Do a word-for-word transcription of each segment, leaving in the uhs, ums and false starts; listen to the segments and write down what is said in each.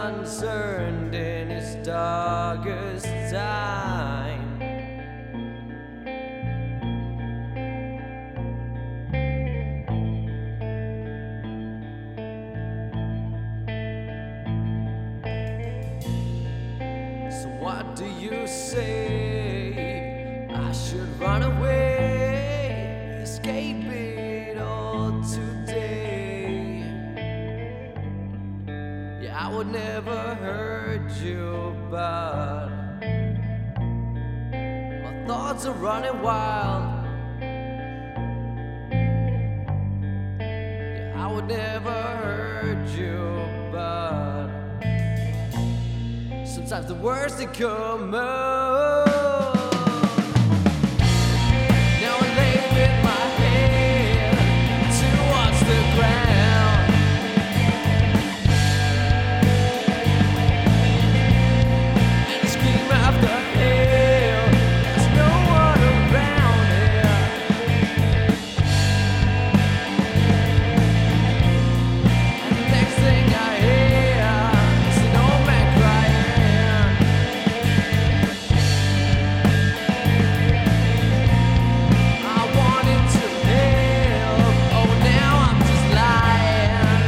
concerned in his darkest time. So what do you say? I should run away, escape it all today. Yeah, I would never hurt you, but my thoughts are running wild. Yeah, I would never hurt you, but sometimes the worst they come out. Now I lay with my head towards the ground, and I scream after hell. There's no one around here, and the next thing I hear is an old man crying. I wanted to help, oh now I'm just lying.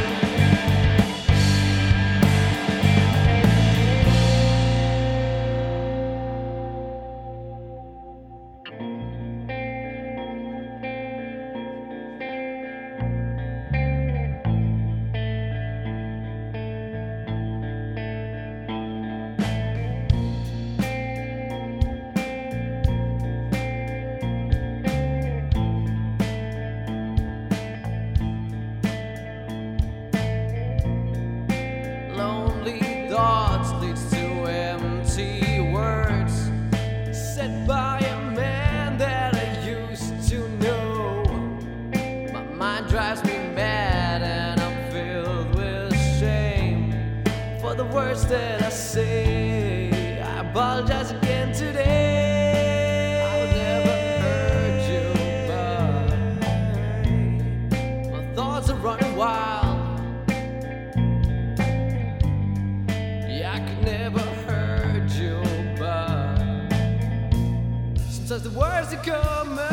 Lonely thoughts leads to empty words said by a man that I used to know. My mind drives me mad and I'm filled with shame for the words that I say. I apologize again today. I would never hurt you, but my thoughts are running wild. Yeah, I could never hurt you, but sometimes the words that come out.